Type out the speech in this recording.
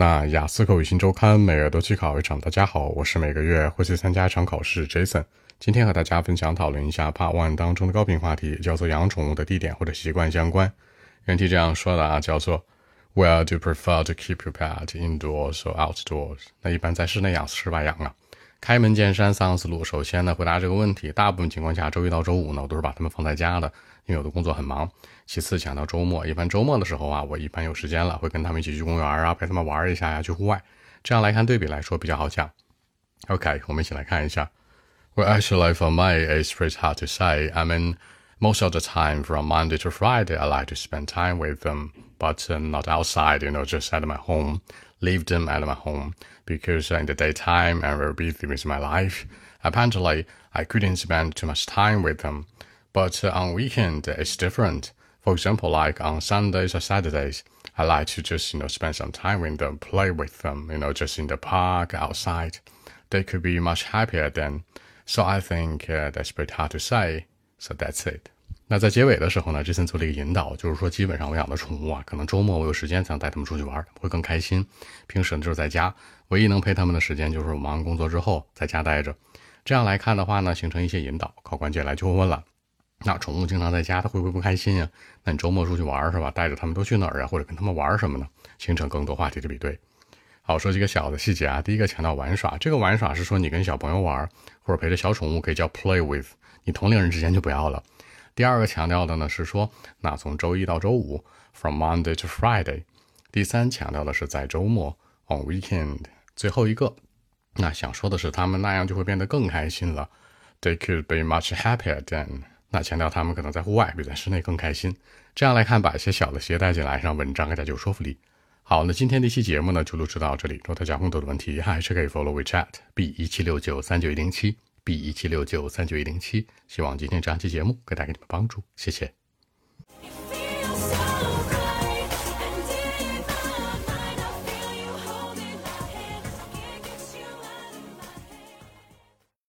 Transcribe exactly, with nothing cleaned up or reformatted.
那雅思口语新周刊每月都去考一场，大家好，我是每个月会去参加一场考试 Jason。 今天和大家分享讨论一下 Part one 当中的高频话题，叫做养宠物的地点或者习惯相关。原题这样说的啊，叫做 Where do you prefer to keep your pet, indoors or outdoors？ 那一般在室内养室外养啊。开门见山三个思路，首先呢回答这个问题，大部分情况下周一到周五呢我都是把它们放在家的，因为我的工作很忙。其次讲到周末，一般周末的时候啊，我一般有时间了会跟他们一起去公园啊，陪他们玩一下呀，去户外。这样来看对比来说比较好讲。 OK， 我们一起来看一下。 Well, actually for me it's pretty hard to say. I mean most of the time from Monday to Friday I like to spend time with them, but uh, not outside, you know, just at my home. Leave them at my home because in the daytime I'm very busy with my life. Apparently I couldn't spend too much time with them, but uh, on weekend it's different. For example, like on Sundays or Saturdays, I like to just, you know, spend some time with them, play with them, you know, just in the park, outside. They could be much happier then. So I think uh, that's pretty hard to say. So that's it. 那在结尾的时候呢 Jason 做了一个引导，就是说基本上我养的宠物啊，可能周末我有时间才能带他们出去玩，会更开心。平时呢就是在家，唯一能陪他们的时间就是我忙完工作之后在家待着。这样来看的话呢，形成一些引导，考官接下来就会问了，那宠物经常在家它会不会不开心呀？那你周末出去玩是吧，带着他们都去哪儿啊，或者跟他们玩什么呢？形成更多话题的比对。好，说几个小的细节啊。第一个强调玩耍，这个玩耍是说你跟小朋友玩，或者陪着小宠物可以叫 play with， 你同龄人之间就不要了。第二个强调的呢是说，那从周一到周五 from Monday to Friday。 第三强调的是在周末 on weekend。 最后一个，那想说的是他们那样就会变得更开心了， they could be much happier then。 那强调他们可能在户外比在室内更开心。这样来看，把一些小的携带进来，让文章更加有说服力。好，那今天这期节目呢就录制到这里。如果大家更多的问题还是可以 follow WeChat B 一七六九三九一零七 B 一七六九三九一零七。希望今天这样期节目可以带给你们帮助，谢谢。